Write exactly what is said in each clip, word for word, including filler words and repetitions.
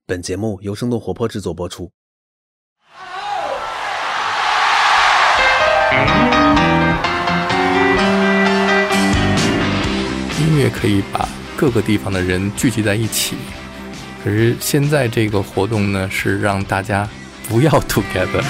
本节目由生动活泼制作播出。 音乐可以把各个地方的人聚集在一起，可是现在这个活动呢，是让大家不要 together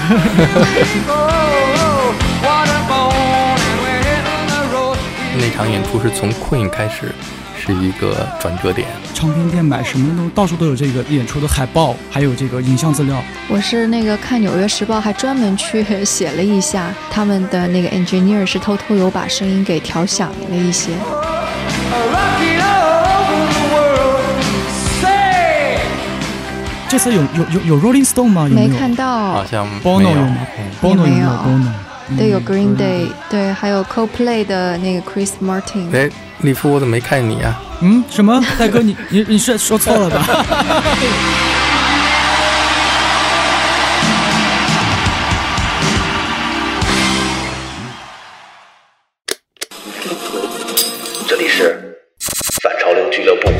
那场演出是从 Queen 开始，是一个转折点。 唱片店买什么都到处都有这个演出的海报，还有这个影像资料。 我是那个看纽约时报还专门去写了一下，他们的那个 engineer 是偷偷有把声音给调响了一些。 这次有有有有 Rolling Stone 吗？有没有？ 没看到， 好像 Bono 有吗？ Bono 有没有 Bono？ 对，有 Green Day， 对，还有 Coldplay 的那个 Chris Martin。 哎，利夫，我怎么没看你啊？ 嗯，什么？大哥，你你你是说错了吧？ 这里是反潮流俱乐部。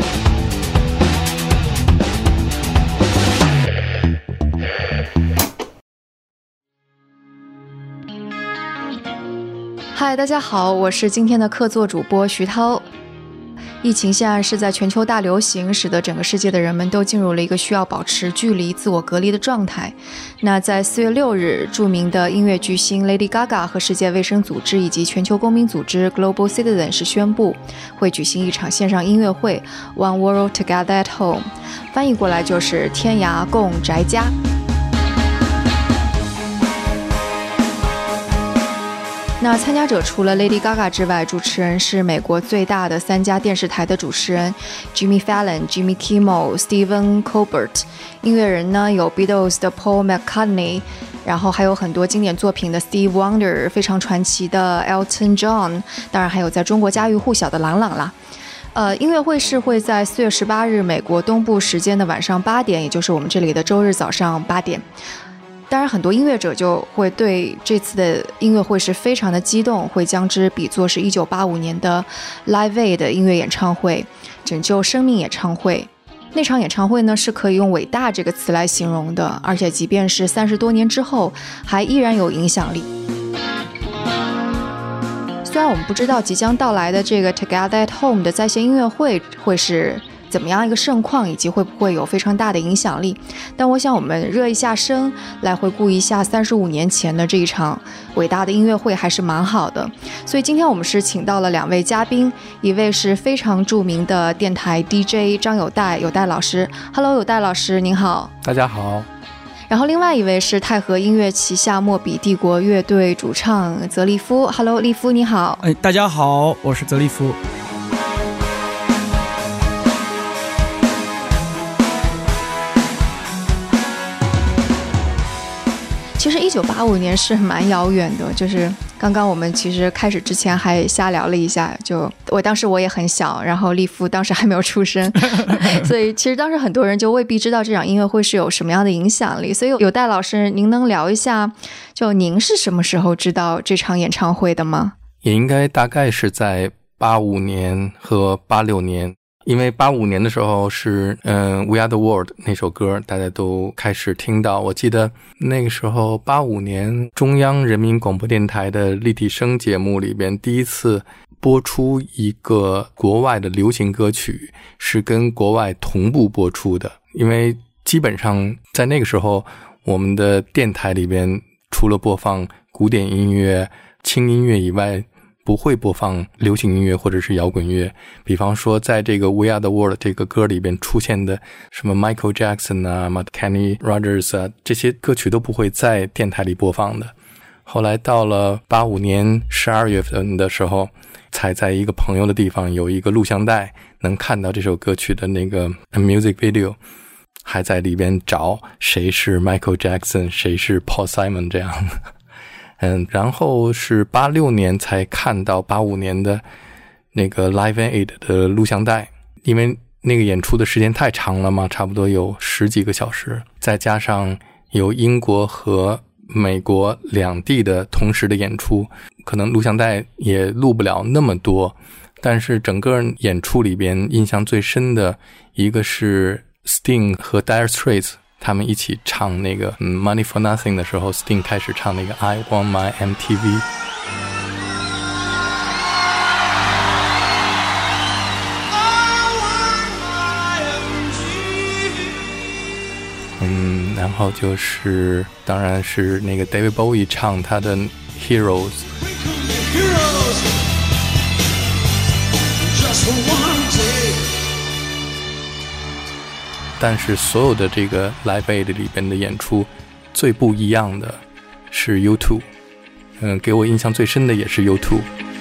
嗨，大家好，我是今天的客座主播徐涛。疫情现在是在全球大流行，使得整个世界的人们都进入了一个需要保持距离、自我隔离的状态。那在四月六日，著名的音乐巨星 Lady Gaga 和世界卫生组织以及全球公民组织 Global Citizen 是宣布会举行一场线上音乐会 One World Together at Home， 翻译过来就是天涯共宅家。那参加者除了 Lady Gaga 之外，主持人是美国最大的三家电视台的主持人 Jimmy Fallon、Jimmy Kimmel、Stephen Colbert。音乐人呢有 Beatles 的 Paul McCartney， 然后还有很多经典作品的 Steve Wonder， 非常传奇的 Elton John， 当然还有在中国家喻户晓的郎朗啦。呃，音乐会是会在四月十八日美国东部时间的晚上八点，也就是我们这里的周日早上八点。当然很多音乐者就会对这次的音乐会是非常的激动，会将之比作是一九八五年的 Live Aid 的音乐演唱会，拯救生命演唱会。那场演唱会呢是可以用伟大这个词来形容的，而且即便是三十多年之后还依然有影响力。虽然我们不知道即将到来的这个 Together at Home 的在线音乐会会是怎么样一个盛况，以及会不会有非常大的影响力，但我想我们热一下身来回顾一下三十五年前的这一场伟大的音乐会还是蛮好的。所以今天我们是请到了两位嘉宾，一位是非常著名的电台 D J 张友代，友代老师。 Hello 友代老师您好。 大家好。 然后另外一位是泰和音乐旗下莫比帝国乐队主唱泽利夫。 Hello 利夫你好。 哎，大家好，我是泽利夫。 其实一九八五年是蛮遥远的，就是刚刚我们其实开始之前还瞎聊了一下，就我当时我也很小，然后利夫当时还没有出生所以其实当时很多人就未必知道这场音乐会是有什么样的影响力。所以友代老师您能聊一下，就您是什么时候知道这场演唱会的吗？ 也应该大概是在八五年和八六年，因为八五年的时候是嗯、呃、We Are the World 那首歌大家都开始听到。我记得那个时候八五年中央人民广播电台的立体声节目里边第一次播出一个国外的流行歌曲，是跟国外同步播出的。因为基本上在那个时候我们的电台里边除了播放古典音乐轻音乐以外，不会播放流行音乐或者是摇滚乐。比方说在这个 We Are the World 这个歌里边出现的什么 Michael Jackson 啊 Kenny Rogers 啊，这些歌曲都不会在电台里播放的。后来到了八五年十二月份的时候，才在一个朋友的地方有一个录像带，能看到这首歌曲的那个 music video， 还在里边找谁是 Michael Jackson 谁是 Paul Simon 这样嗯，然后是八六年才看到八五年的那个 Live Aid 的录像带，因为那个演出的时间太长了嘛，差不多有十几个小时，再加上有英国和美国两地的同时的演出，可能录像带也录不了那么多，但是整个演出里边印象最深的一个是 Sting 和 Dire Straits 他们一起唱那个、嗯、Money for Nothing 的时候， Sting 开始唱那个 I Want My M T V。 嗯，然后就是当然是那个 David Bowie 唱他的 Heroes。 但是所有的这个 Live Aid 里边的演出最不一样的是 U 二， 嗯，给我印象最深的也是 U 二。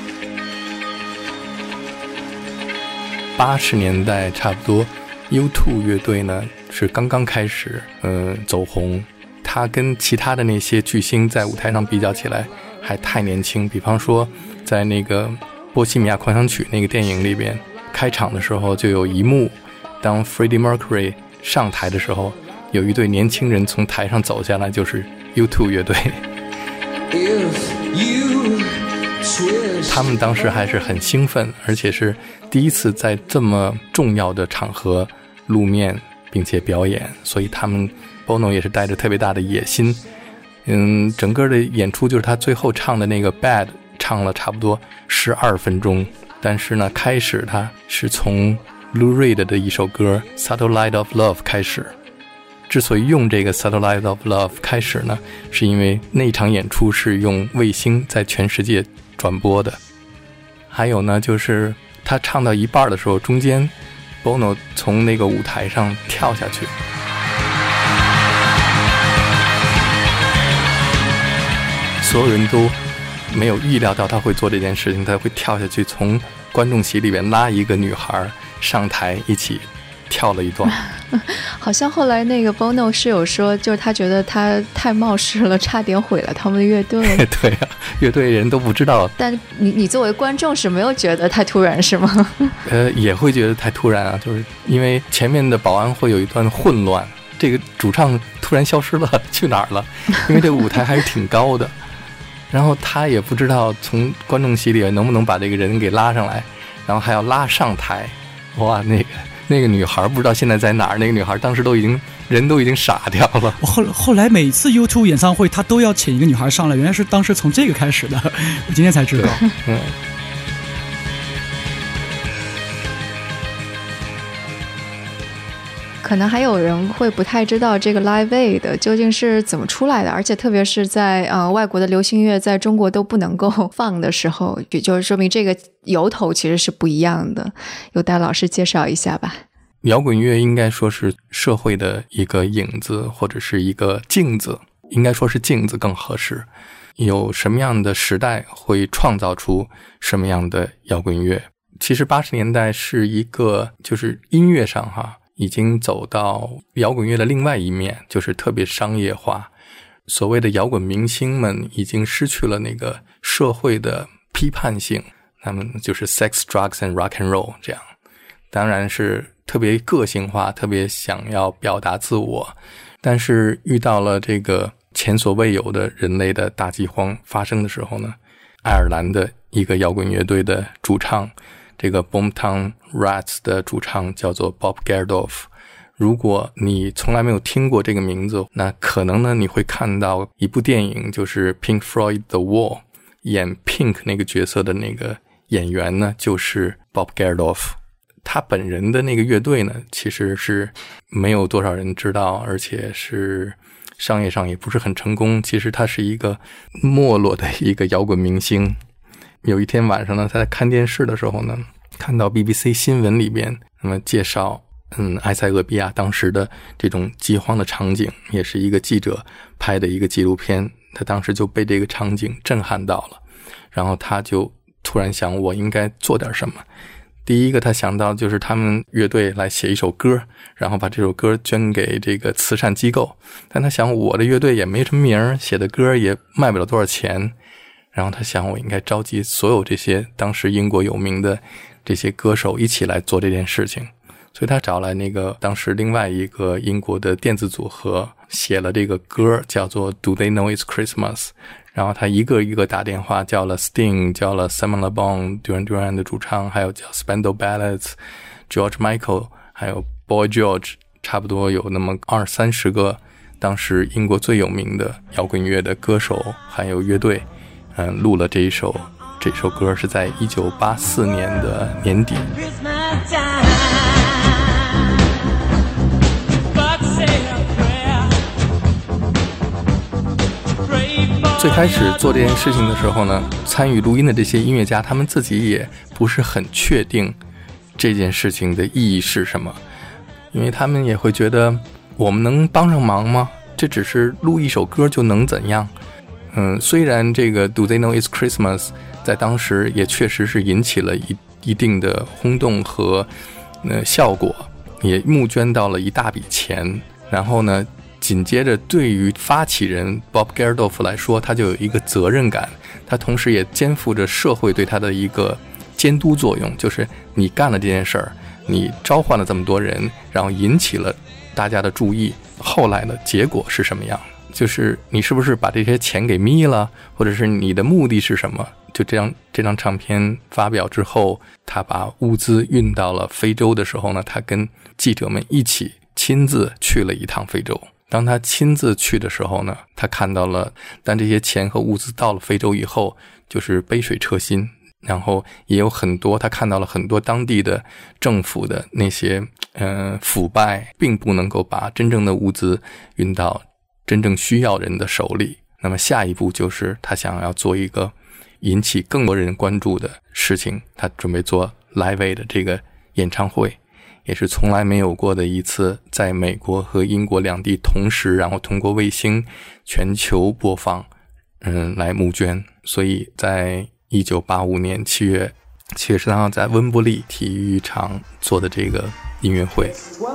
八十年代差不多 U 二 乐队呢是刚刚开始嗯走红，他跟其他的那些巨星在舞台上比较起来还太年轻。比方说在那个波西米亚狂想曲那个电影里边，开场的时候就有一幕，当 Freddie Mercury 上台的时候，有一对年轻人从台上走下来，就是 U 二 乐队。他们当时还是很兴奋，而且是第一次在这么重要的场合露面并且表演，所以他们 Bono 也是带着特别大的野心。嗯，整个的演出就是他最后唱的那个 Bad 唱了差不多十二分钟，但是呢，开始他是从 Lou Reed 的一首歌 Satellite of Love 开始。之所以用这个 Satellite of Love 开始呢，是因为那场演出是用卫星在全世界转播的。还有呢，就是他唱到一半的时候，中间 Bono 从那个舞台上跳下去，所有人都没有预料到他会做这件事情，他会跳下去从观众席里面拉一个女孩上台一起跳了一段。 好像后来那个 Bono 是有说，就是他觉得他太冒失了，差点毁了他们的乐队。 对啊，乐队人都不知道。 但你你作为观众是没有觉得太突然是吗？ 呃，也会觉得太突然啊，就是因为前面的保安会有一段混乱，这个主唱突然消失了，去哪儿了？因为这个舞台还是挺高的。然后他也不知道从观众席里能不能把这个人给拉上来，然后还要拉上台。哇，那个那个女孩不知道现在在哪儿，那个女孩当时都已经人都已经傻掉了。 后后来每次 U 二 演唱会他都要请一个女孩上来，原来是当时从这个开始的，我今天才知道。 嗯。 可能还有人会不太知道这个 Live Aid 究竟是怎么出来的，而且特别是在呃外国的流行乐在中国都不能够放的时候，也就是说明这个由头其实是不一样的。由戴老师介绍一下吧。 摇滚乐应该说是社会的一个影子，或者是一个镜子，应该说是镜子更合适。有什么样的时代会创造出什么样的摇滚乐。其实八十年代是一个就是音乐上哈已经走到摇滚乐的另外一面，就是特别商业化。所谓的摇滚明星们已经失去了那个社会的批判性，他们就是 sex, drugs and rock and roll 这样。当然是特别个性化，特别想要表达自我。但是遇到了这个前所未有的人类的大饥荒发生的时候呢，爱尔兰的一个摇滚乐队的主唱，这个 Boomtown Rats 的主唱叫做 Bob Geldof。 如果你从来没有听过这个名字，那可能呢你会看到一部电影，就是 Pink Floyd The Wall， 演 Pink 那个角色的那个演员呢就是 Bob Geldof。 他本人的那个乐队呢其实是没有多少人知道，而且是商业上也不是很成功。其实他是一个没落的一个摇滚明星。有一天晚上呢，他在看电视的时候呢，看到 B B C 新闻里边那么介绍嗯，埃塞俄比亚当时的这种饥荒的场景，也是一个记者拍的一个纪录片。他当时就被这个场景震撼到了，然后他就突然想，我应该做点什么。第一个他想到就是他们乐队来写一首歌，然后把这首歌捐给这个慈善机构。但他想，我的乐队也没什么名，写的歌也卖不了多少钱。然后他想，我应该召集所有这些当时英国有名的这些歌手一起来做这件事情。所以他找来那个当时另外一个英国的电子组合，写了这个歌叫做 Do They Know It's Christmas。 然后他一个一个打电话，叫了 Sting， 叫了 Simon Le Bon，Duran Duran 的主唱，还有叫 Spandau Ballet， George Michael， 还有 Boy George 差不多有那么二三十个当时英国最有名的摇滚乐的歌手还有乐队，嗯，录了这一首这首歌是在一九八四年的年底。最开始做这件事情的时候呢，参与录音的这些音乐家他们自己也不是很确定这件事情的意义是什么，因为他们也会觉得我们能帮上忙吗？这只是录一首歌就能怎样？嗯，虽然这个 Do They Know It's Christmas 在当时也确实是引起了一一定的轰动和呃效果，也募捐到了一大笔钱。然后呢，紧接着对于发起人 Bob Geldof 来说，他就有一个责任感，他同时也肩负着社会对他的一个监督作用，就是你干了这件事儿，你召唤了这么多人，然后引起了大家的注意，后来的结果是什么样？就是你是不是把这些钱给眯了，或者是你的目的是什么？就这张这张唱片发表之后，他把物资运到了非洲的时候呢，他跟记者们一起亲自去了一趟非洲。当他亲自去的时候呢，他看到了，但这些钱和物资到了非洲以后，就是杯水车薪。然后也有很多，他看到了很多当地的政府的那些呃腐败，并不能够把真正的物资运到真正需要人的手里。那么下一步就是他想要做一个引起更多人关注的事情，他准备做 Live Aid 的这个演唱会，也是从来没有过的一次在美国和英国两地同时，然后通过卫星全球播放，嗯，来募捐。所以在一九八五年七月七月十三号在温布利体育场做的这个音乐会。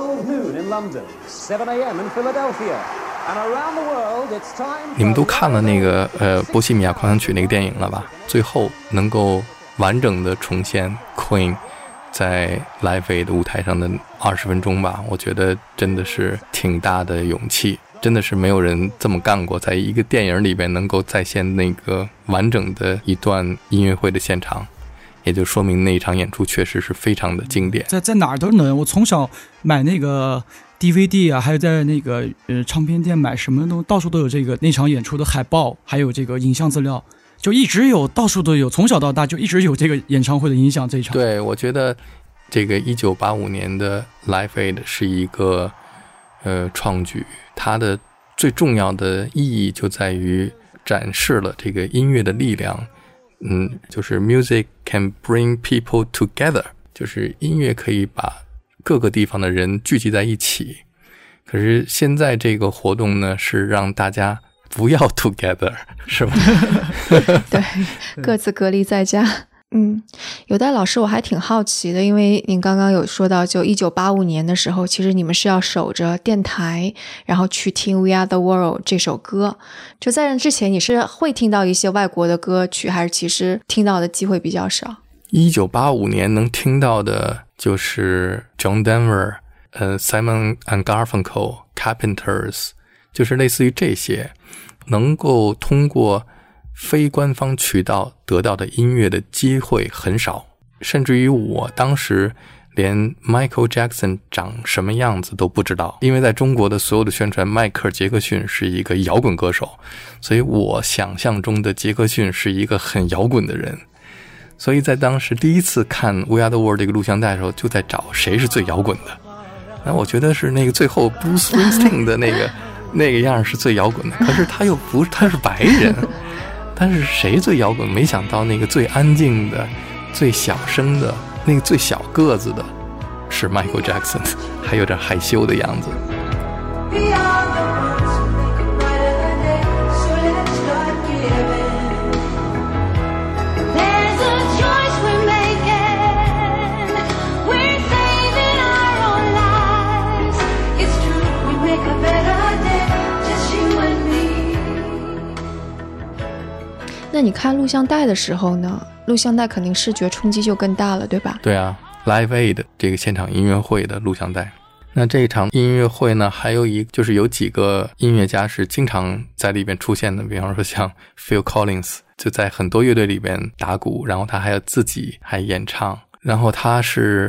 你们都看了那个呃波西米亚狂想曲那个电影了吧？最后能够完整的重现 Queen 在 Live Aid 的舞台上的二十分钟吧，我觉得真的是挺大的勇气。真的是没有人这么干过，在一个电影里边能够再现那个完整的一段音乐会的现场，也就说明那一场演出确实是非常的经典。 在在哪儿都能，我从小买那个 D V D 啊，还有在那个呃唱片店买什么都到处都有这个那场演出的海报，还有这个影像资料，就一直有，到处都有，从小到大就一直有这个演唱会的影响这一场。 对，我觉得这个一九八五年的 Live Aid 是一个呃创举，它的最重要的意义就在于展示了这个音乐的力量。嗯，就是 music can bring people together， 就是音乐可以把各个地方的人聚集在一起。可是现在这个活动呢，是让大家不要 together， 是吧？ 对，各自隔离在家。嗯，有戴老师，我还挺好奇的，因为您刚刚有说到，就一九八五年的时候，其实你们是要守着电台，然后去听 We Are the World 这首歌。就在那之前，你是会听到一些外国的歌曲，还是其实听到的机会比较少？ 一九八五年能听到的就是 John Denver、呃 Simon and Garfunkel、Carpenters， 就是类似于这些，能够通过非官方渠道得到的音乐的机会很少，甚至于我当时连 Michael Jackson 长什么样子都不知道，因为在中国的所有的宣传，迈克尔·杰克逊是一个摇滚歌手，所以我想象中的杰克逊是一个很摇滚的人。所以在当时第一次看 We Are the World 这个录像带的时候，就在找谁是最摇滚的。那我觉得是那个最后 Bruce Springsteen 的那个那个样是最摇滚的，可是他又不是，他是白人。但是谁最摇滚？没想到那个最安静的、最小声的、那个最小个子的是 Michael Jackson， 还有点害羞的样子。 那你看录像带的时候呢？录像带肯定视觉冲击就更大了，对吧？ 对啊 Live Aid 这个现场音乐会的录像带。那这一场音乐会呢，还有一就是有几个音乐家是经常在里边出现的，比方说像 Phil Collins 就在很多乐队里边打鼓，然后他还有自己还演唱，然后他是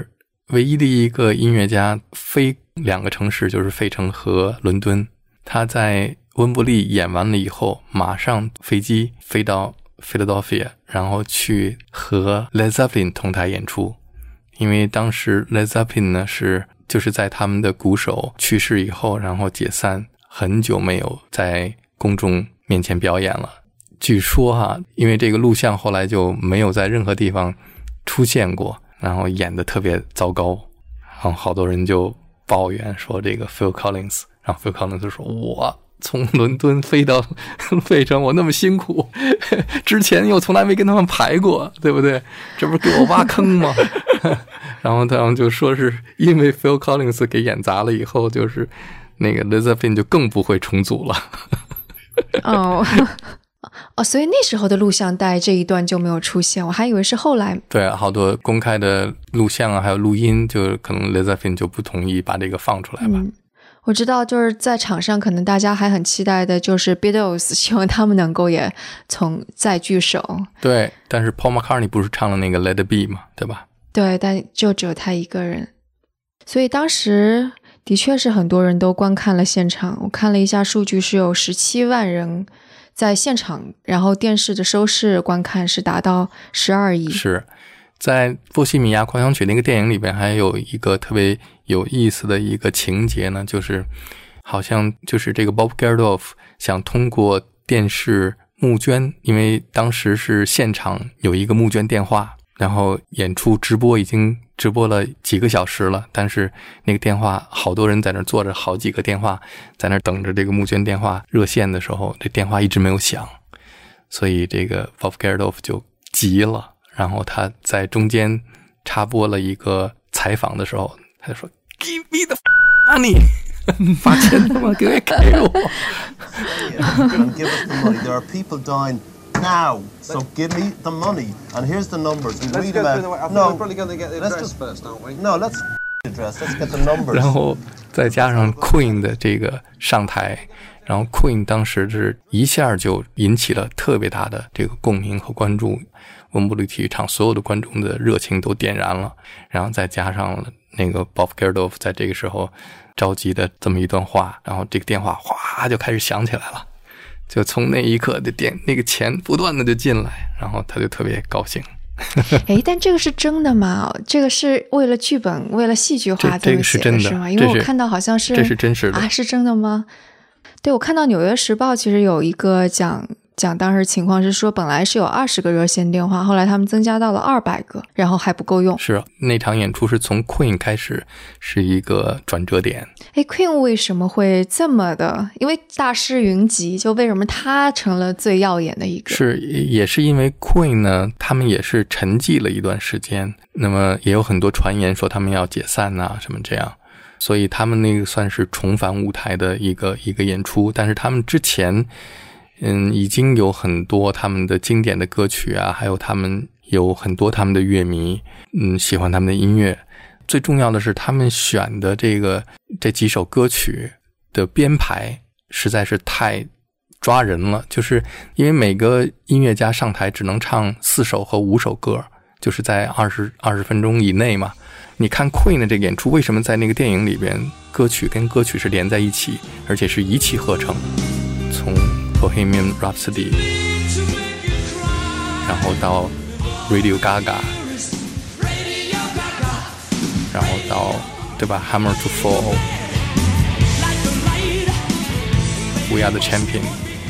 唯一的一个音乐家飞两个城市，就是费城和伦敦。他在温布利演完了以后，马上飞机飞到 Philadelphia， 然后去和 Led Zeppelin 同台演出。因为当时 Led Zeppelin 呢是就是在他们的鼓手去世以后，然后解散，很久没有在公众面前表演了。据说哈，因为这个录像后来就没有在任何地方出现过，然后演得特别糟糕，然后好多人就抱怨说这个 Phil Collins， 然后 Phil Collins 说我从伦敦飞到费城，我那么辛苦，之前又从来没跟他们排过，对不对？这不是给我挖坑吗？然后他们就说是因为 Phil Collins 给演砸了以后，就是那个 Led Zeppelin 就更不会重组了。 哦哦，所以那时候的录像带这一段就没有出现，我还以为是后来。 对，好多公开的录像啊，还有录音，就可能 Led Zeppelin 就不同意把这个放出来吧。 嗯，我知道，就是在场上，可能大家还很期待的，就是 Beatles， 希望他们能够也从再聚首。 对，但是 Paul McCartney 不是唱了那个 Let It Be 嘛，对吧？ 对，但就只有他一个人，所以当时的确是很多人都观看了现场。我看了一下数据，是有十七万人在现场，然后电视的收视观看是达到十二亿。 是在《波西米亚狂想曲》那个电影里边，还有一个特别有意思的一个情节呢，就是好像就是这个 Bob Geldof 想通过电视募捐，因为当时是现场有一个募捐电话，然后演出直播已经直播了几个小时了，但是那个电话好多人在那坐着，好几个电话在那等着这个募捐电话热线的时候，这电话一直没有响，所以这个 Bob Geldof 就急了，然后他在中间插播了一个采访的时候，他就说 Give me the money 把钱他妈给给我 and give us the money. There are people dying now, so give me the money. And here's the numbers. We Let's read go about. through the way. I think No, we're probably going to get the let's address just- first, aren't we? No, let's address. Let's get the numbers. 然后再加上 Queen 的这个上台，然后 Queen 当时是一下就引起了特别大的这个共鸣和关注，温布利体育场所有的观众的热情都点燃了，然后再加上了那个 Bob Geldof 在这个时候着急的这么一段话，然后这个电话哗就开始响起来了，就从那一刻的电那个钱不断的就进来，然后他就特别高兴。 诶，但这个是真的吗？这个是为了剧本，为了戏剧化这这么写这个是真的是吗？因为这是我看到好像是这是真实的啊，是真的吗？对，我看到《纽约时报》其实有一个讲讲当时情况是说，本来是有二十个热线电话，后来他们增加到了二百个，然后还不够用。 是那场演出是从 Queen 开始是一个转折点。 诶 Queen 为什么会这么的？因为大师云集，就为什么他成了最耀眼的一个？ 是，也是因为 Queen 呢，他们也是沉寂了一段时间，那么也有很多传言说他们要解散啊什么这样，所以他们那个算是重返舞台的一个一个演出。但是他们之前嗯，已经有很多他们的经典的歌曲啊，还有他们有很多他们的乐迷嗯喜欢他们的音乐。最重要的是他们选的这个这几首歌曲的编排实在是太抓人了，就是因为每个音乐家上台只能唱四首和五首歌，就是在二十二十分钟以内嘛。你看 Queen 的这个演出，为什么在那个电影里边歌曲跟歌曲是连在一起，而且是一气呵成，从 Bohemian Rhapsody 然后到 Radio Gaga， 然后到对吧 Hammer to Fall， We Are the Champion，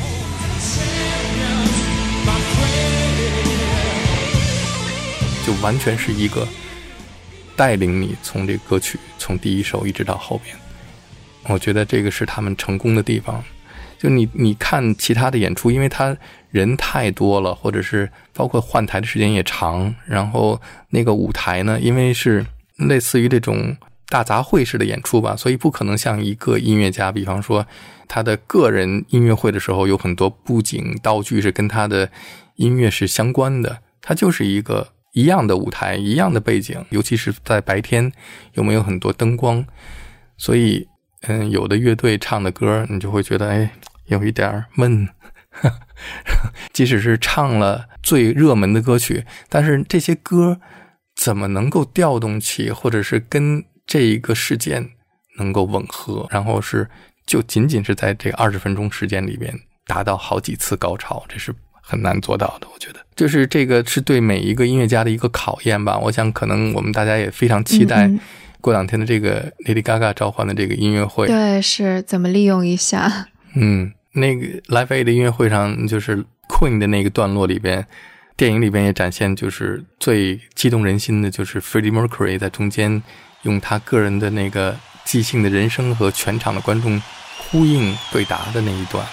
就完全是一个带领你从这个歌曲从第一首一直到后边。我觉得这个是他们成功的地方。就你你看其他的演出，因为他人太多了，或者是包括换台的时间也长，然后那个舞台呢，因为是类似于这种大杂烩式的演出吧，所以不可能像一个音乐家，比方说他的个人音乐会的时候有很多布景道具是跟他的音乐是相关的，它就是一个一样的舞台，一样的背景，尤其是在白天有没有很多灯光，所以嗯，有的乐队唱的歌你就会觉得哎有一点闷即使是唱了最热门的歌曲，但是这些歌怎么能够调动起，或者是跟这一个事件能够吻合，然后是就仅仅是在这二十分钟时间里边达到好几次高潮，这是很难做到的。我觉得就是这个是对每一个音乐家的一个考验吧。我想可能我们大家也非常期待过两天的这个 Lady Gaga 召唤的这个音乐会。 对，是怎么利用一下。 嗯，那个 Live Aid 的音乐会上，就是 Queen 的那个段落里边，电影里边也展现，就是最激动人心的就是 Freddie Mercury 在中间用他个人的那个即兴的人声和全场的观众呼应对答的那一段。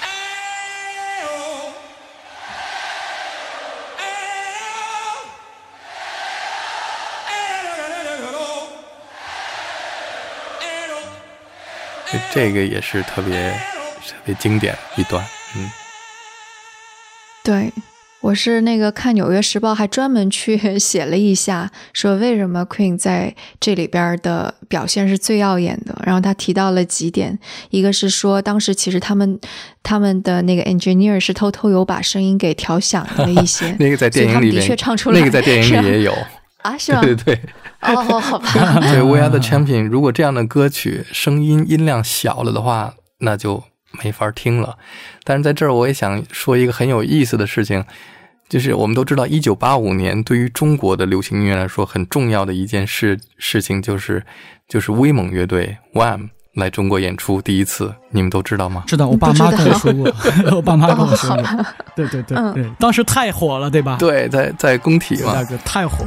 这个也是特别特别经典一段。嗯， 对，我是那个看纽约时报还专门去写了一下，说为什么 Queen 在这里边的表现是最耀眼的，然后他提到了几点，一个是说当时其实他们他们的那个 engineer 是偷偷有把声音给调响了一些那个在电影里面的确唱出来， 那个在电影里也有啊，是吗？ 对对对， 哦，好吧。 对 We Are the Champion 如果这样的歌曲声音音量小了的话，那就没法听了。但是在这儿我也想说一个很有意思的事情，就是我们都知道一九八五年对于中国的流行音乐来说很重要的一件事事情就是就是威猛乐队 W A M 来中国演出第一次，你们都知道吗？ 知道，我爸妈跟我说过我爸妈跟我说过、哦、对对对对、嗯，当时太火了对吧？ 对，在在工体嘛， 那个太火。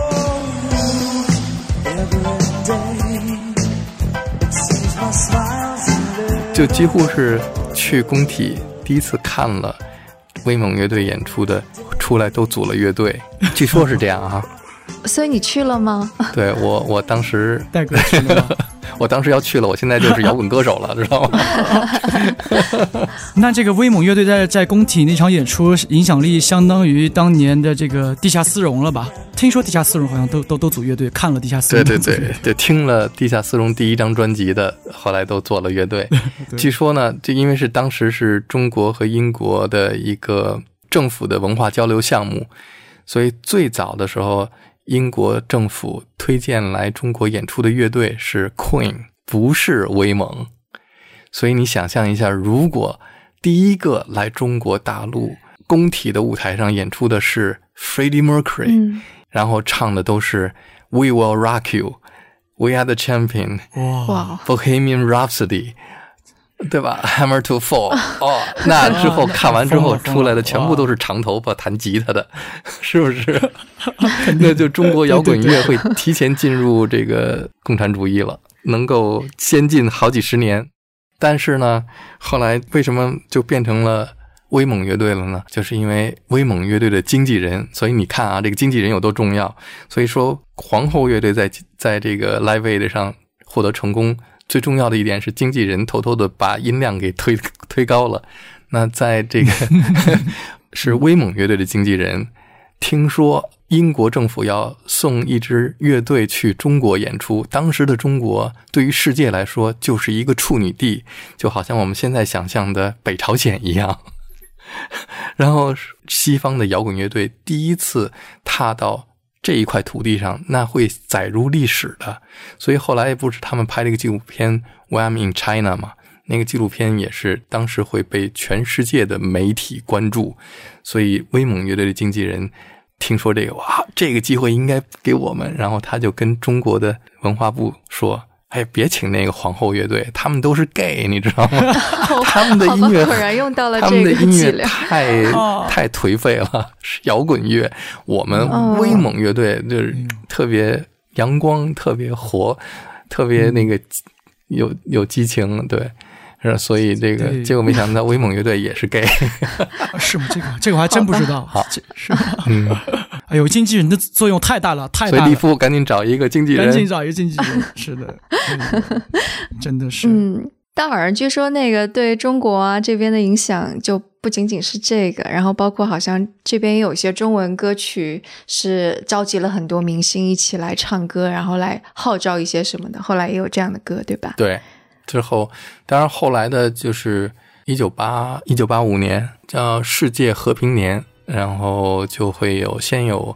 就几乎是去工体第一次看了威猛乐队演出的，出来都组了乐队，据说是这样啊。 所以你去了吗？ 对，我我当时戴哥去了吗？ 我当时要去了，我现在就是摇滚歌手了，知道吗？ 那这个威猛乐队在在工体那场演出影响力相当于当年的这个地下丝绒了吧？听说地下丝绒好像都都都组乐队，看了地下丝绒， 对对对对，听了地下丝绒第一张专辑的，后来都做了乐队。据说呢，就因为是当时是中国和英国的一个政府的文化交流项目，所以最早的时候英国政府推荐来中国演出的乐队是 Queen， 不是威猛。所以你想象一下，如果第一个来中国大陆工体的舞台上演出的是 Freddie Mercury、嗯、然后唱的都是 We Will Rock You， We Are the Champion， 哇 Bohemian Rhapsody， 对吧？ Hammer to Fall 哦，那之后看完之后出来的全部都是长头发弹吉他的，是不是？那就中国摇滚乐会提前进入这个共产主义了，能够先进好几十年。但是呢，后来为什么就变成了威猛乐队了呢？就是因为威猛乐队的经纪人，所以你看啊，这个经纪人有多重要。所以说皇后乐队在在这个 Live Aid 上获得成功，最重要的一点是经纪人偷偷的把音量给推推高了。那在这个是威猛乐队的经纪人听说英国政府要送一支乐队去中国演出，当时的中国对于世界来说就是一个处女地，就好像我们现在想象的北朝鲜一样。然后西方的摇滚乐队第一次踏到这一块土地上，那会载入历史的。所以后来不是他们拍了一个纪录片 W A M in China 嘛，那个纪录片也是当时会被全世界的媒体关注。所以威猛乐队的经纪人听说这个，哇，这个机会应该给我们，然后他就跟中国的文化部说，哎，别请那个皇后乐队，他们都是 gay， 你知道吗？他们的音乐果然用到了这个，他们的音乐太、 哦、 太颓废了，是摇滚乐。我们威猛乐队就是特别阳光，特别活，特别那个有有激情，对。所以这个结果没想到威猛乐队也是 gay。 是吗？这个这个我还真不知道。 好， 是吗？嗯，哎呦，经纪人的作用太大了，太大了。 所以利夫赶紧找一个经纪人， 赶紧找一个经纪人。是的，真的是。 嗯，但好像据说那个对中国啊这边的影响就不仅仅是这个，然后包括好像这边也有一些中文歌曲是召集了很多明星一起来唱歌，然后来号召一些什么的，后来也有这样的歌，对吧？ 对。之后当然后来的就是一九八五年叫世界和平年，然后就会有先有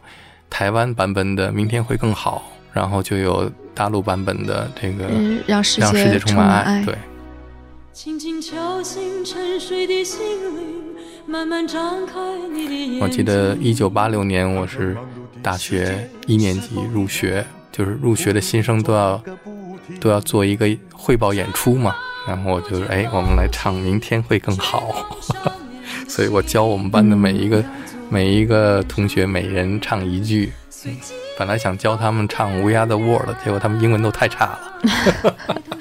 台湾版本的明天会更好，然后就有大陆版本的这个、 嗯、让世界让世界充满爱， 爱对。 轻轻敲醒沉睡的心灵，慢慢张开你的眼睛。 我记得一九八六年我是大学一年级入学，就是入学的新生都要都要做一个汇报演出嘛，然后我就哎，我们来唱明天会更好所以我教我们班的每一个、嗯、每一个同学每人唱一句、嗯、本来想教他们唱 We Are the World， 结果他们英文都太差了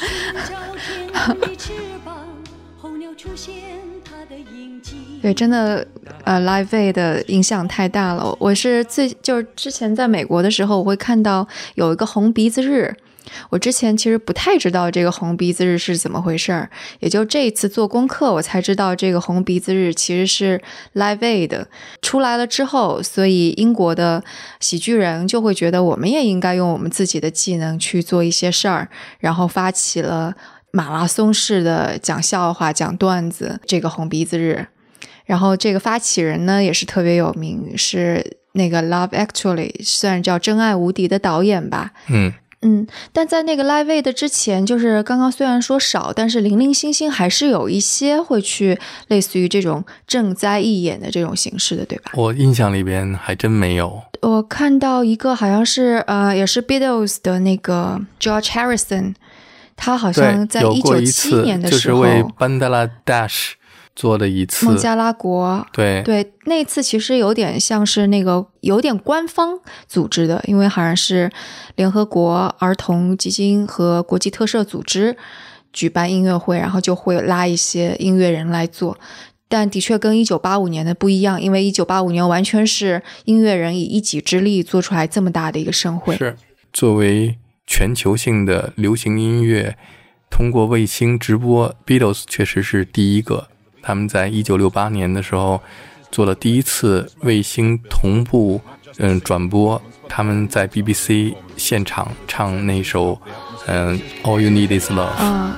对，真的呃 Live Aid 的影响太大了。我是最就是之前在美国的时候，我会看到有一个红鼻子日，我之前其实不太知道这个红鼻子日是怎么回事儿，也就这一次做功课我才知道这个红鼻子日其实是 Live Aid 出来了之后，所以英国的喜剧人就会觉得我们也应该用我们自己的技能去做一些事儿，然后发起了马拉松式的讲笑话讲段子这个红鼻子日。然后这个发起人呢也是特别有名，是那个 Love Actually 虽然叫真爱无敌的导演吧。 嗯嗯，但在那个 Live Aid 之前，就是刚刚虽然说少，但是零零星星还是有一些会去类似于这种赈灾义演的这种形式的，对吧？ 我印象里边还真没有。 我看到一个好像是呃，也是 Beatles 的那个 George Harrison， 他好像在一九七一年的时候， 就是为班德拉 Dash 做的一次孟加拉国， 对对，那次其实有点像是那个有点官方组织的，因为好像是联合国儿童基金和国际特赦组织举办音乐会，然后就会拉一些音乐人来做。但的确跟一九八五年的不一样，因为一九八五年完全是音乐人以一己之力做出来这么大的一个盛会。 是作为全球性的流行音乐通过卫星直播， Beatles 确实是第一个。他们在一九六八年的时候做了第一次卫星同步嗯转播，他们在 B B C 现场唱那首嗯 All You Need Is Love、 嗯、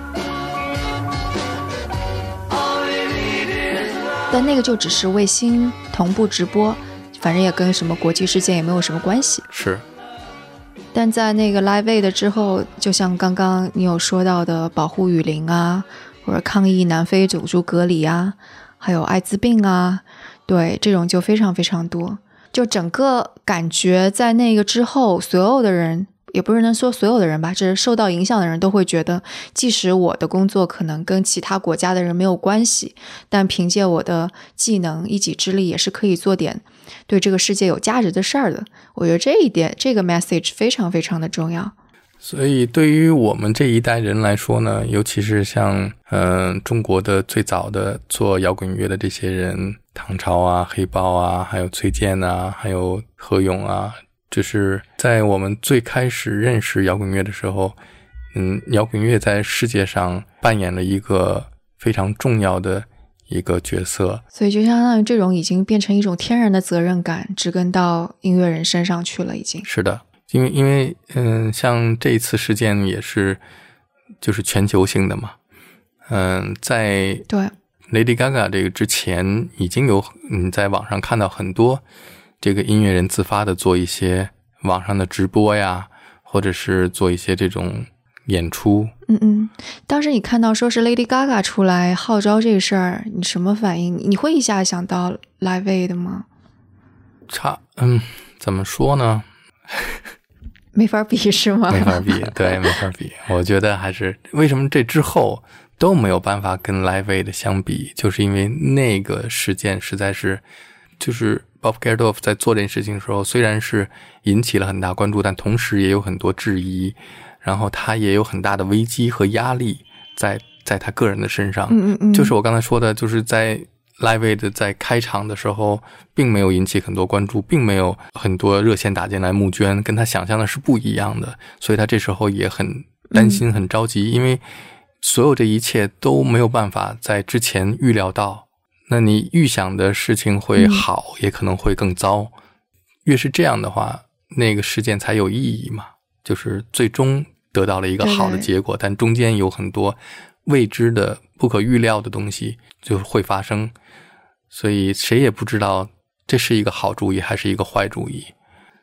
但那个就只是卫星同步直播，反正也跟什么国际事件也没有什么关系。 是， 但在那个 Live Aid 之后，就像刚刚你有说到的保护雨林啊，或者抗议南非种族隔离啊，还有艾滋病啊，对，这种就非常非常多。就整个感觉在那个之后，所有的人，也不是能说所有的人吧，这是受到影响的人都会觉得，即使我的工作可能跟其他国家的人没有关系，但凭借我的技能一己之力也是可以做点对这个世界有价值的事儿的。我觉得这一点，这个 message 非常非常的重要。 所以对于我们这一代人来说呢，尤其是像嗯、呃、中国的最早的做摇滚乐的这些人，唐朝啊、黑豹啊，还有崔健啊，还有何勇啊，就是在我们最开始认识摇滚乐的时候，嗯，摇滚乐在世界上扮演了一个非常重要的一个角色。 所以就相当于这种已经变成一种天然的责任感，植根到音乐人身上去了已经。 是的。因为因为嗯，像这一次事件也是就是全球性的嘛，嗯，在对 Lady Gaga 这个之前，已经有你在网上看到很多这个音乐人自发的做一些网上的直播呀，或者是做一些这种演出。 嗯嗯，当时你看到说是 Lady Gaga 出来号召这事儿，你什么反应？你会一下想到 Live Aid 吗？ 差，嗯，怎么说呢？ 没法比是吗？ 没法比，对，没法比。我觉得还是为什么这之后都没有办法跟 Live Aid 相比，就是因为那个事件实在是，就是 Bob Geldof 在做这件事情的时候，虽然是引起了很大关注，但同时也有很多质疑，然后他也有很大的危机和压力在在他个人的身上。 嗯嗯嗯， 就是我刚才说的，就是在Live Aid 在开场的时候并没有引起很多关注，并没有很多热线打进来募捐，跟他想象的是不一样的，所以他这时候也很担心很着急、嗯、因为所有这一切都没有办法在之前预料到，那你预想的事情会好、嗯、也可能会更糟，越是这样的话那个事件才有意义嘛，就是最终得到了一个好的结果，但中间有很多未知的不可预料的东西就会发生，所以谁也不知道这是一个好主意还是一个坏主意。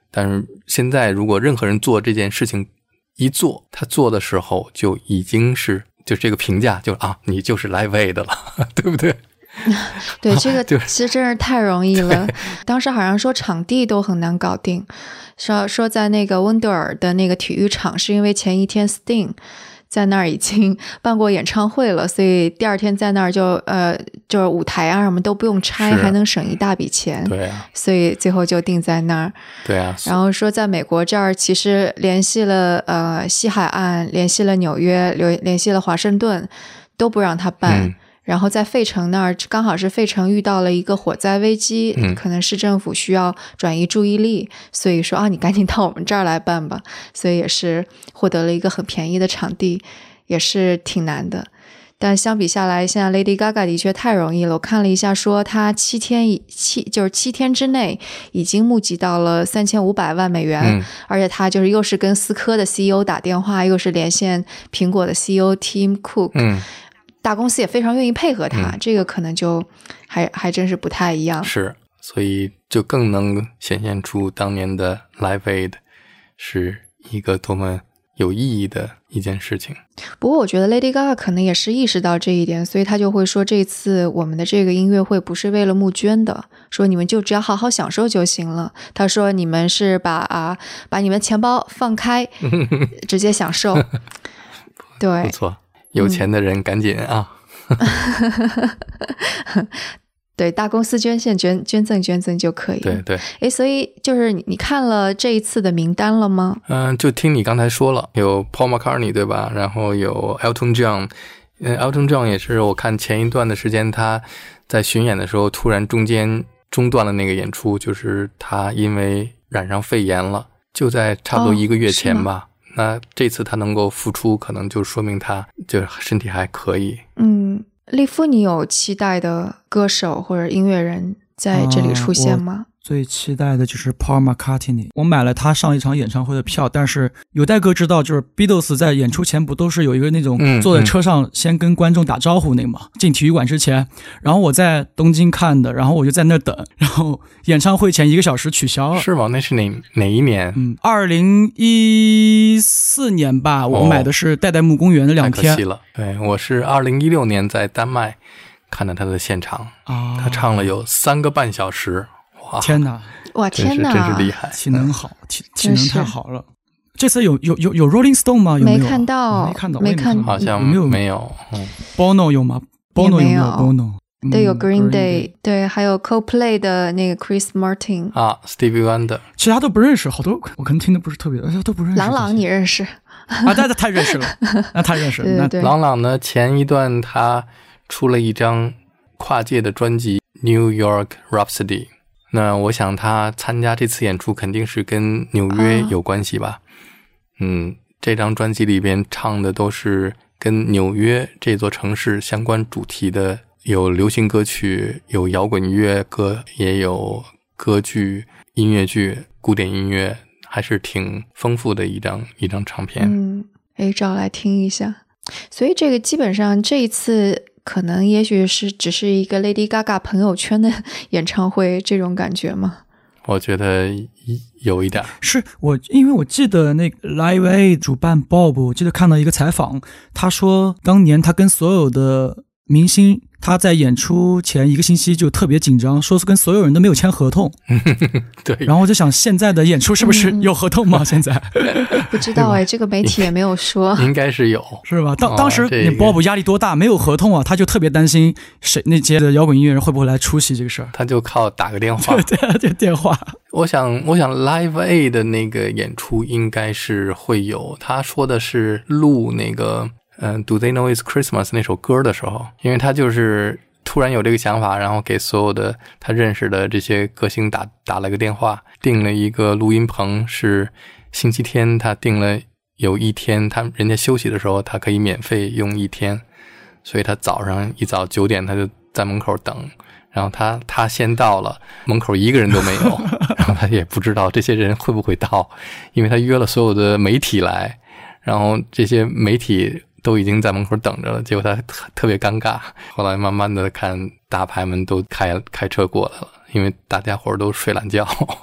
但是现在如果任何人做这件事情一做，他做的时候就已经是就这个评价就啊，你就是 Live Aid 的了，对不对？ 对，这个其实真是太容易了。当时好像说场地都很难搞定，说说在那个温德尔的那个体育场，是因为前一天 Sting 在那儿已经办过演唱会了，所以第二天在那儿就呃就是舞台啊什么都不用拆，还能省一大笔钱。 对啊， 所以最后就定在那儿。 对啊， 然后说在美国这儿其实联系了呃西海岸，联系了纽约，联联系了华盛顿，都不让他办。嗯，然后在费城那儿刚好是费城遇到了一个火灾危机，嗯，可能市政府需要转移注意力，所以说啊你赶紧到我们这儿来办吧，所以也是获得了一个很便宜的场地，也是挺难的。但相比下来，现在 Lady Gaga 的确太容易了。我看了一下说她七天七就是七天之内已经募集到了三千五百万美元，嗯，而且她就是又是跟思科的 C E O 打电话，又是连线苹果的 C E O Tim Cook，嗯，大公司也非常愿意配合他，嗯，这个可能就还还真是不太一样。 是，所以就更能显现出当年的 Live Aid 是一个多么有意义的一件事情。 不过我觉得 Lady Gaga 可能也是意识到这一点，所以他就会说这次我们的这个音乐会不是为了募捐的，说你们就只要好好享受就行了。他说你们是把啊把你们钱包放开直接享受。对， 不错，有钱的人赶紧啊。 对，大公司捐献捐捐赠捐赠就可以。 对对。 诶，所以就是你看了这一次的名单了吗？ 嗯，就听你刚才说了，有 Paul McCartney 对吧？然后有 Elton John， 嗯 Elton John 也是我看前一段的时间他在巡演的时候突然中间中断了那个演出，就是他因为染上肺炎了，就在差不多一个月前吧。哦，那这次他能够复出，可能就说明他就身体还可以。 嗯，利夫，你有期待的歌手或者音乐人在这里出现吗？ 呃、最期待的就是 Paul McCartney， 我买了他上一场演唱会的票，但是有代哥知道，就是 Beatles 在演出前不都是有一个那种坐在车上先跟观众打招呼那个嘛，嗯嗯，进体育馆之前，然后我在东京看的，然后我就在那等，然后演唱会前一个小时取消了。 是吗？那是哪哪一年？ 嗯，二零一四年吧，我买的是代代木公园的两天。 太可惜了。对，我是二零一六年在丹麦看了他的现场，哦，他唱了有三个半小时。哇， 天哪！ 哇，天哪！ 真是厉害， 体能好，体体能太好了。这次有有有有 Rolling Stone 吗？有没有？ 没看到， 没看到， 没看到， 好像没有没有。嗯 Bono 有吗 ？Bono 有没有 ？Bono 对，有 Green Day， 对，还有 Coldplay 的那个 Chris Martin 啊 ，Stevie Wonder， 其他都不认识，好多我可能听的不是特别，都不认识。 郎朗你认识？ 啊，那太认识了，那太认识了。 对对对， 郎朗呢，前一段他出了一张跨界的专辑《New York Rhapsody》。那我想他参加这次演出肯定是跟纽约有关系吧。啊，嗯，这张专辑里边唱的都是跟纽约这座城市相关主题的，有流行歌曲，有摇滚乐歌，也有歌剧、音乐剧、古典音乐，还是挺丰富的一张一张唱片。 嗯，诶，找来听一下。所以这个基本上这一次可能也许是只是一个 Lady Gaga 朋友圈的演唱会，这种感觉吗？ 我觉得有一点。 是我因为我记得那个 Live Aid 主办 Bob， 我记得看到一个采访，他说当年他跟所有的明星，他在演出前一个星期就特别紧张，说是跟所有人都没有签合同。 对。 然后我就想现在的演出是不是有合同吗？嗯、现在不知道哎，这个媒体也没有说。 应该是有， 是吧？当当时你 Bob 压力多大，没有合同啊，他就特别担心谁那些的摇滚音乐人会不会来出席这个事儿。 他就靠打个电话。 对对对，电话。 我想我想 Live Aid 的那个演出应该是会有，他说的是录那个嗯 Do They Know It's Christmas 那首歌的时候，因为他就是突然有这个想法，然后给所有的他认识的这些歌星打打了个电话，订了一个录音棚，是星期天他订了有一天他人家休息的时候他可以免费用一天，所以他早上一早九点他就在门口等，然后他他先到了，门口一个人都没有，然后他也不知道这些人会不会到，因为他约了所有的媒体来，然后这些媒体都已经在门口等着了，结果他特别尴尬。后来慢慢的看大牌们都开开车过来了，因为大家伙都睡懒觉。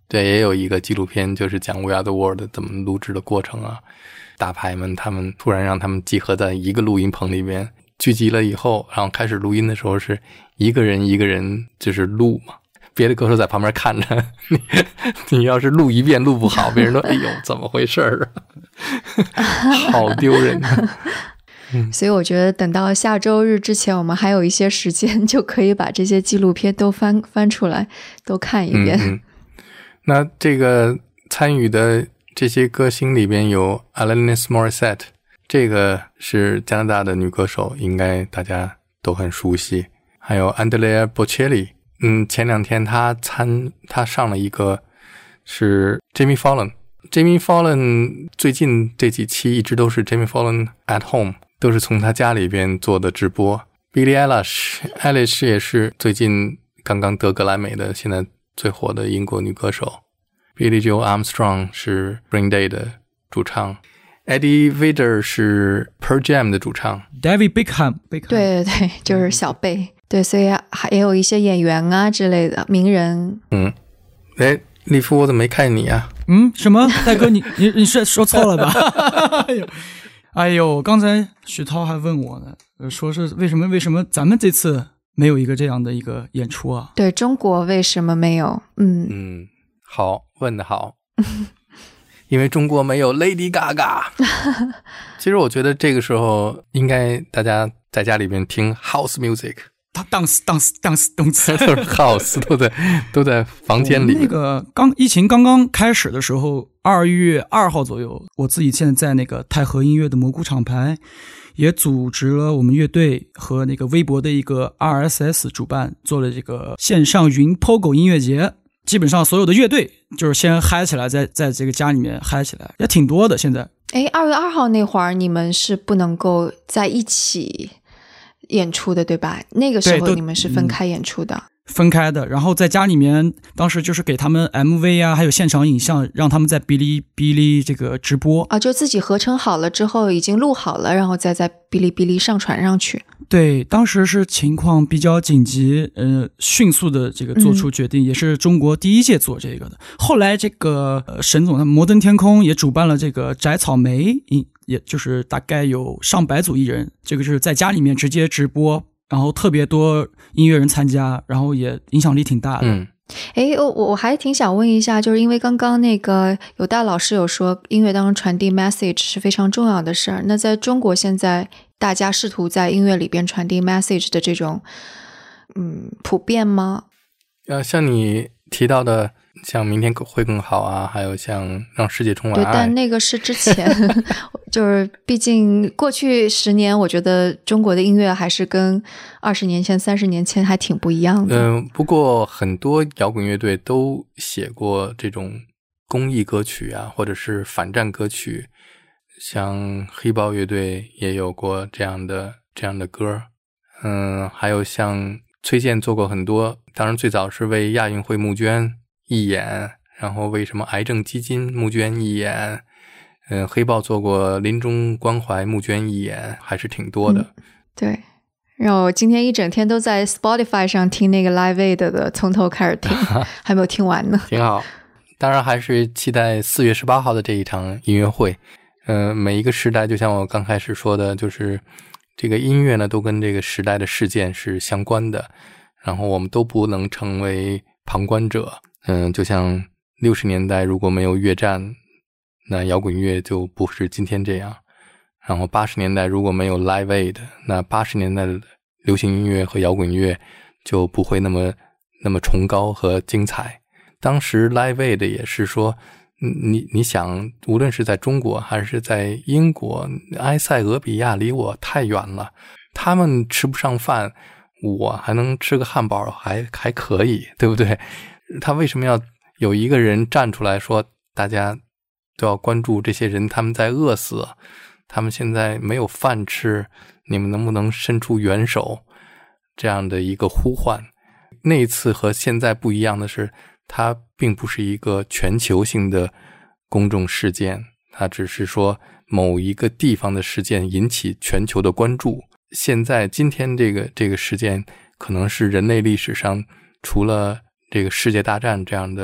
对，也有一个纪录片，就是讲 We Are the World 怎么录制的过程啊。大牌们他们突然让他们集合在一个录音棚里边聚集了以后，然后开始录音的时候是一个人一个人就是录嘛，别的歌手在旁边看着你，你要是录一遍录不好，别人都哎呦怎么回事啊，好丢人啊。 嗯、所以我觉得等到下周日之前，我们还有一些时间，就可以把这些纪录片都翻翻出来，都看一遍。 嗯嗯，那这个参与的这些歌星里边有 Alanis Morissette， 这个是加拿大的女歌手，应该大家都很熟悉。还有 Andrea Bocelli， 嗯，前两天她参她上了一个是 Jimmy Fallon。Jimmy Fallon 最近这几期一直都是 Jimmy Fallon at home， 都是从他家里边做的直播。Billie Eilish Eilish 也是最近刚刚得格莱美的，现在最火的英国女歌手。Billie Joe Armstrong 是 Green Day 的主唱， Eddie Vedder 是 Pearl Jam 的主唱， David Beckham， 对对对，就是小贝。对，所以还有一些演员啊之类的名人。 嗯，哎，利夫，我怎么没看你啊？ 嗯，什么？大哥，你你你是说错了吧？哎呦，哎呦，刚才许涛还问我呢，说是为什么为什么咱们这次没有一个这样的一个演出啊？ 对，中国为什么没有？嗯嗯，好，问得好。因为中国没有 Lady Gaga。 其实我觉得这个时候应该大家在家里面听 House Music， dance dance dance dance 都是 House， 都在都在房间里面。 那个刚疫情刚刚开始的时候，二月二号左右，我自己现在在那个太和音乐的蘑菇厂牌也组织了我们乐队和那个微博的一个 R S S 主办，做了这个线上云 Pogo 音乐节。基本上所有的乐队就是先嗨起来，在在这个家里面嗨起来，也挺多的。现在， 哎，二月二号那会儿你们是不能够在一起演出的，对吧？那个时候你们是分开演出的。嗯， 分开的，然后在家里面，当时就是给他们 M V 啊，还有现场影像，让他们在哔哩哔哩这个直播啊，就自己合成好了之后，已经录好了，然后再在哔哩哔哩上传上去。 对，当时是情况比较紧急，呃，迅速的这个做出决定，嗯，也是中国第一届做这个的。后来这个呃沈总他们摩登天空也主办了这个摘草莓，也就是大概有上百组艺人，这个是在家里面直接直播。然后特别多音乐人参加，然后也影响力挺大的。 嗯， 诶，我我还挺想问一下，就是因为刚刚那个有大老师有说音乐当中传递 message 是非常重要的事儿，那在中国现在大家试图在音乐里边传递 message 的这种嗯普遍吗？ 呃，像你提到的像明天会更好啊，还有像让世界充满爱， 对，但那个是之前就是毕竟过去十年我觉得中国的音乐还是跟二十年前三十年前还挺不一样的。 嗯，不过很多摇滚乐队都写过这种公益歌曲啊，或者是反战歌曲，像黑豹乐队也有过这样的这样的歌。嗯，还有像崔健做过很多，当然最早是为亚运会募捐义演，然后为什么癌症基金募捐义演，嗯，黑豹做过临终关怀募捐义演，还是挺多的。 嗯，对，然后我今天一整天都在 Spotify 上听那个 Live Aid 的，从头开始听，还没有听完呢。 挺好，当然还是期待四月十八号的这一场音乐会。嗯、呃，每一个时代，就像我刚开始说的，就是这个音乐呢，都跟这个时代的事件是相关的，然后我们都不能成为旁观者。嗯，就像六十年代如果没有越战，那摇滚乐就不是今天这样。然后八十年代如果没有 Live Aid， 那八十年代的流行音乐和摇滚乐就不会那么那么崇高和精彩。当时 Live Aid 也是说，你你想，无论是在中国还是在英国，埃塞俄比亚离我太远了，他们吃不上饭，我还能吃个汉堡，还还可以，对不对？他为什么要有一个人站出来说，大家都要关注这些人，他们在饿死，他们现在没有饭吃，你们能不能伸出援手？这样的一个呼唤。那一次和现在不一样的是，它并不是一个全球性的公众事件，它只是说某一个地方的事件引起全球的关注。现在今天这个这个事件可能是人类历史上除了这个世界大战这样的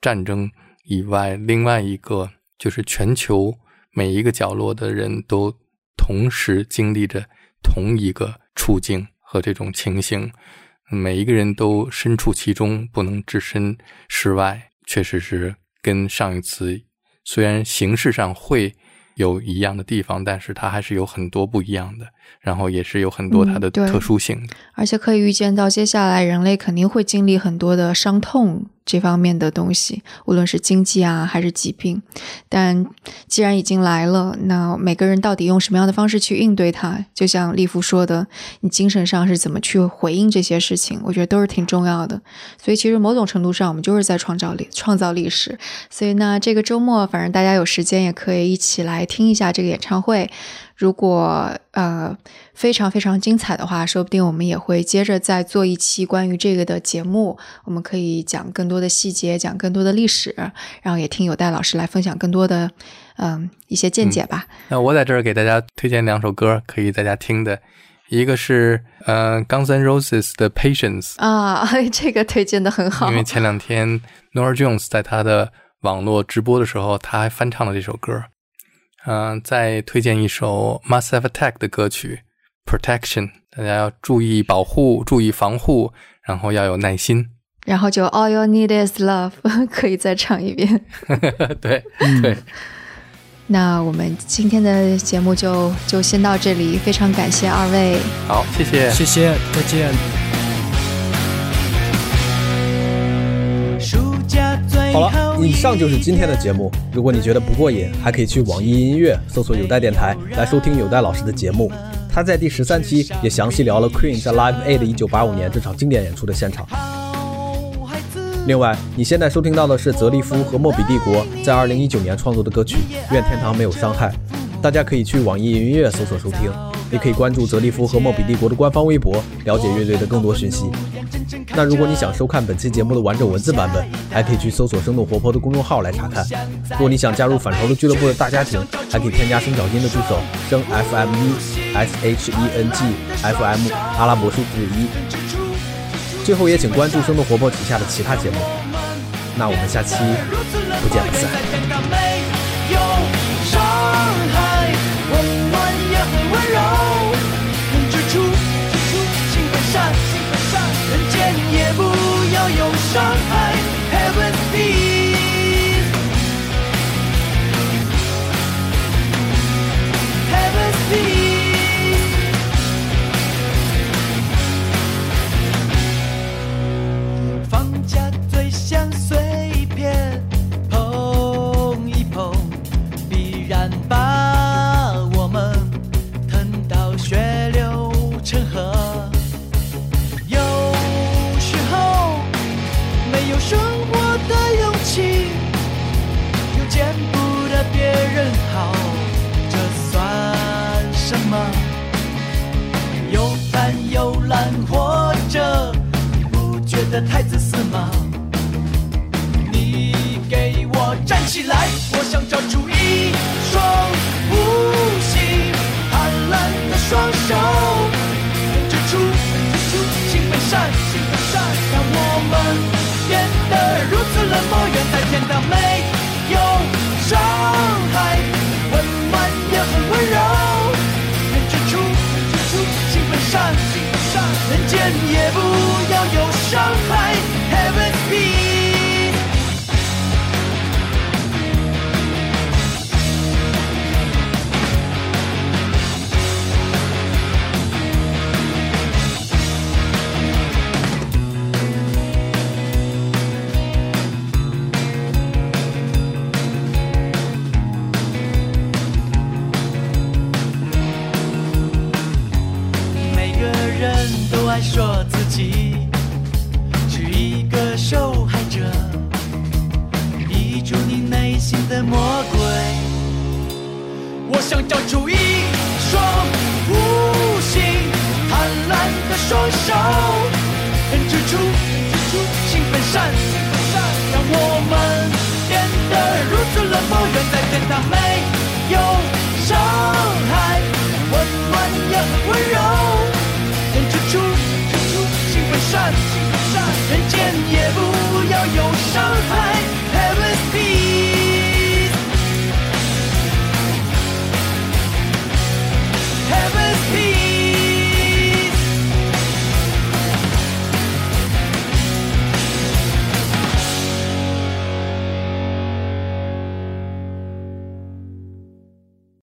战争以外，另外一个就是全球每一个角落的人都同时经历着同一个处境和这种情形，每一个人都身处其中，不能置身事外，确实是跟上一次虽然形式上会有一样的地方，但是它还是有很多不一样的，然后也是有很多它的特殊性、嗯、 而且可以预见到接下来人类肯定会经历很多的伤痛这方面的东西，无论是经济啊还是疾病，但既然已经来了，那每个人到底用什么样的方式去应对它，就像立夫说的，你精神上是怎么去回应这些事情，我觉得都是挺重要的。所以其实某种程度上我们就是在创造历创造历史。所以呢这个周末反正大家有时间也可以一起来听一下这个演唱会，如果呃非常非常精彩的话，说不定我们也会接着再做一期关于这个的节目，我们可以讲更多的细节，讲更多的历史，然后也听有代老师来分享更多的嗯一些见解吧、嗯、 那我在这儿给大家推荐两首歌可以大家听的，一个是呃 Guns N' Roses 的 Patience 啊，这个推荐的很好， 因为前两天 Norah Jones 在他的网络直播的时候他还翻唱了这首歌。嗯、呃，再推荐一首 Massive Attack 的歌曲 Protection， 大家要注意保护，注意防护，然后要有耐心， 然后就 All you need is love 可以再唱一遍对对、嗯、 那我们今天的节目就就先到这里，非常感谢二位， 好，谢谢谢谢，再见。 好了，以上就是今天的节目。如果你觉得不过瘾，还可以去网易音乐搜索有代电台来收听有代老师的节目。他在第十三期也详细聊了 Queen 在 Live Aid 一九八五年这场经典演出的现场。另外，你现在收听到的是泽利夫和莫比帝国在二零一九年创作的歌曲《愿天堂没有伤害》，大家可以去网易音乐搜索收听，也可以关注泽利夫和莫比帝国的官方微博，了解乐队的更多讯息。那如果你想收看本期节目的完整文字版本，还可以去搜索生动活泼的公众号来查看。如果你想加入反潮流俱乐部的大家庭，还可以添加声小金的助手声 F M 一 S H E N G F M 阿拉伯数字一。最后也请关注生动活泼旗下的其他节目。那我们下期不见不散。 人间也不要有伤害 Heaven's peace Heaven's peace 放假最像碎片碰一碰，必然把我们疼到血流成河。有生活的勇气，又见不得别人好，这算什么？又贪又懒活着，你不觉得太自私吗？你给我站起来，我想抓住一双无形贪婪的双手，指出指出心本善，心本善，让我们变得如此冷漠，远在天堂没有伤害，温暖也很温柔，人之初人之初心本善，心本善，人间也不要有伤害 Heaven's peace。 说自己是一个受害者，逼住你内心的魔鬼。我想找出一双无形贪婪的双手，人之初人之初心本善，心本善，让我们变得如此冷漠，远在天堂没有伤